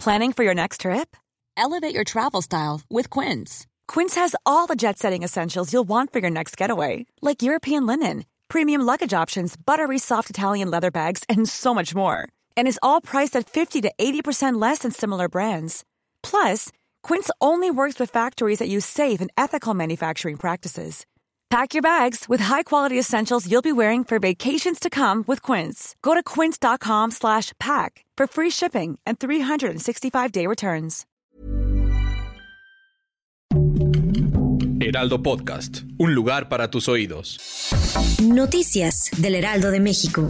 Planning for your next trip? Elevate your travel style with Quince. Quince has all the jet-setting essentials you'll want for your next getaway, like European linen, premium luggage options, buttery soft Italian leather bags, and so much more. And is all priced at 50 to 80% less than similar brands. Plus, Quince only works with factories that use safe and ethical manufacturing practices. Pack your bags with high-quality essentials you'll be wearing for vacations to come with Quince. Go to quince.com/pack for free shipping and 365-day returns. Heraldo Podcast, un lugar para tus oídos. Noticias del Heraldo de México.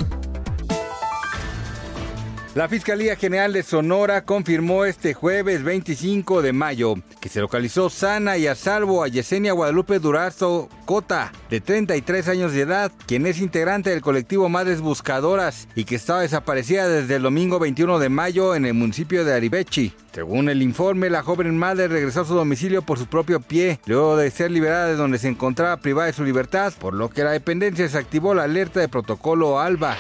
La Fiscalía General de Sonora confirmó este jueves 25 de mayo que se localizó sana y a salvo a Yesenia Guadalupe Durazo Cota, de 33 años de edad, quien es integrante del colectivo Madres Buscadoras y que estaba desaparecida desde el domingo 21 de mayo en el municipio de Aribechi. Según el informe, la joven madre regresó a su domicilio por su propio pie, luego de ser liberada de donde se encontraba privada de su libertad, por lo que la dependencia desactivó la alerta de protocolo ALBA.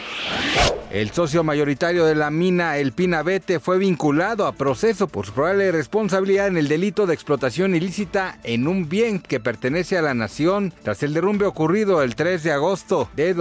El socio mayoritario de la mina El Pinabete fue vinculado a proceso por su probable responsabilidad en el delito de explotación ilícita en un bien que pertenece a la nación tras el derrumbe ocurrido el 3 de agosto de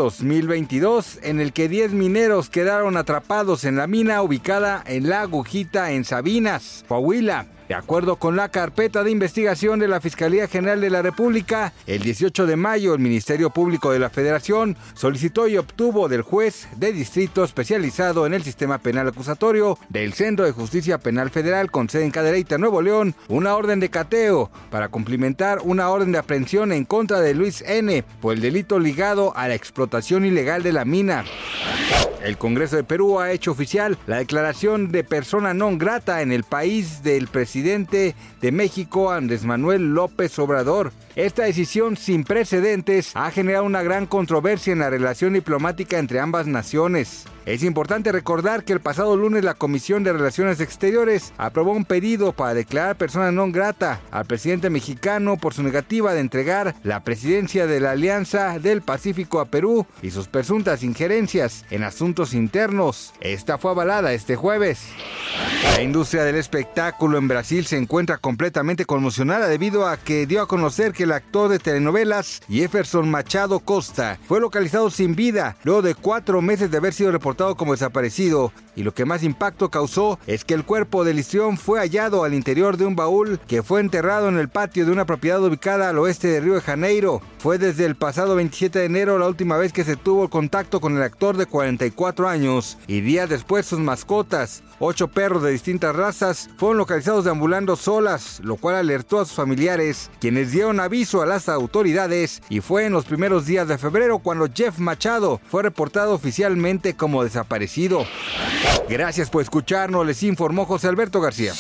2022, en el que 10 mineros quedaron atrapados en la mina ubicada en La Agujita en Sabinas, Coahuila. De acuerdo con la carpeta de investigación de la Fiscalía General de la República, el 18 de mayo el Ministerio Público de la Federación solicitó y obtuvo del juez de distrito especializado en el sistema penal acusatorio del Centro de Justicia Penal Federal con sede en Cadereyta, Nuevo León, una orden de cateo para cumplimentar una orden de aprehensión en contra de Luis N. por el delito ligado a la explotación ilegal de la mina. El Congreso de Perú ha hecho oficial la declaración de persona non grata en el país del presidente de México, Andrés Manuel López Obrador. Esta decisión sin precedentes ha generado una gran controversia en la relación diplomática entre ambas naciones. Es importante recordar que el pasado lunes la Comisión de Relaciones Exteriores aprobó un pedido para declarar persona non grata al presidente mexicano por su negativa de entregar la presidencia de la Alianza del Pacífico a Perú y sus presuntas injerencias en asuntos internos. Esta fue avalada este jueves. La industria del espectáculo en Brasil se encuentra completamente conmocionada debido a que dio a conocer que el actor de telenovelas Jefferson Machado Costa fue localizado sin vida luego de 4 meses de haber sido reportado como desaparecido, y lo que más impacto causó es que el cuerpo del histrión fue hallado al interior de un baúl que fue enterrado en el patio de una propiedad ubicada al oeste de Río de Janeiro. Fue desde el pasado 27 de enero la última vez que se tuvo contacto con el actor de 44 años, y días después sus mascotas, 8 perros de distintas razas, fueron localizados deambulando solas, lo cual alertó a sus familiares, quienes dieron aviso a las autoridades, y fue en los primeros días de febrero cuando Jeff Machado fue reportado oficialmente como desaparecido. Gracias por escucharnos, les informó José Alberto García.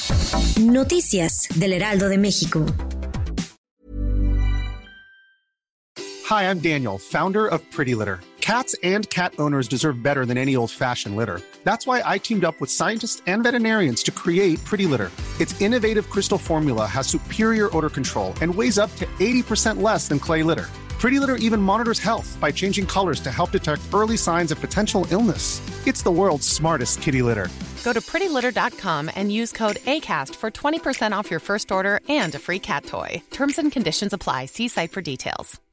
Noticias del Heraldo de México. Hi, I'm Daniel, founder of Pretty Litter. Cats and cat owners deserve better than any old-fashioned litter. That's why I teamed up with scientists and veterinarians to create Pretty Litter. Its innovative crystal formula has superior odor control and weighs up to 80% less than clay litter. Pretty Litter even monitors health by changing colors to help detect early signs of potential illness. It's the world's smartest kitty litter. Go to prettylitter.com and use code ACAST for 20% off your first order and a free cat toy. Terms and conditions apply. See site for details.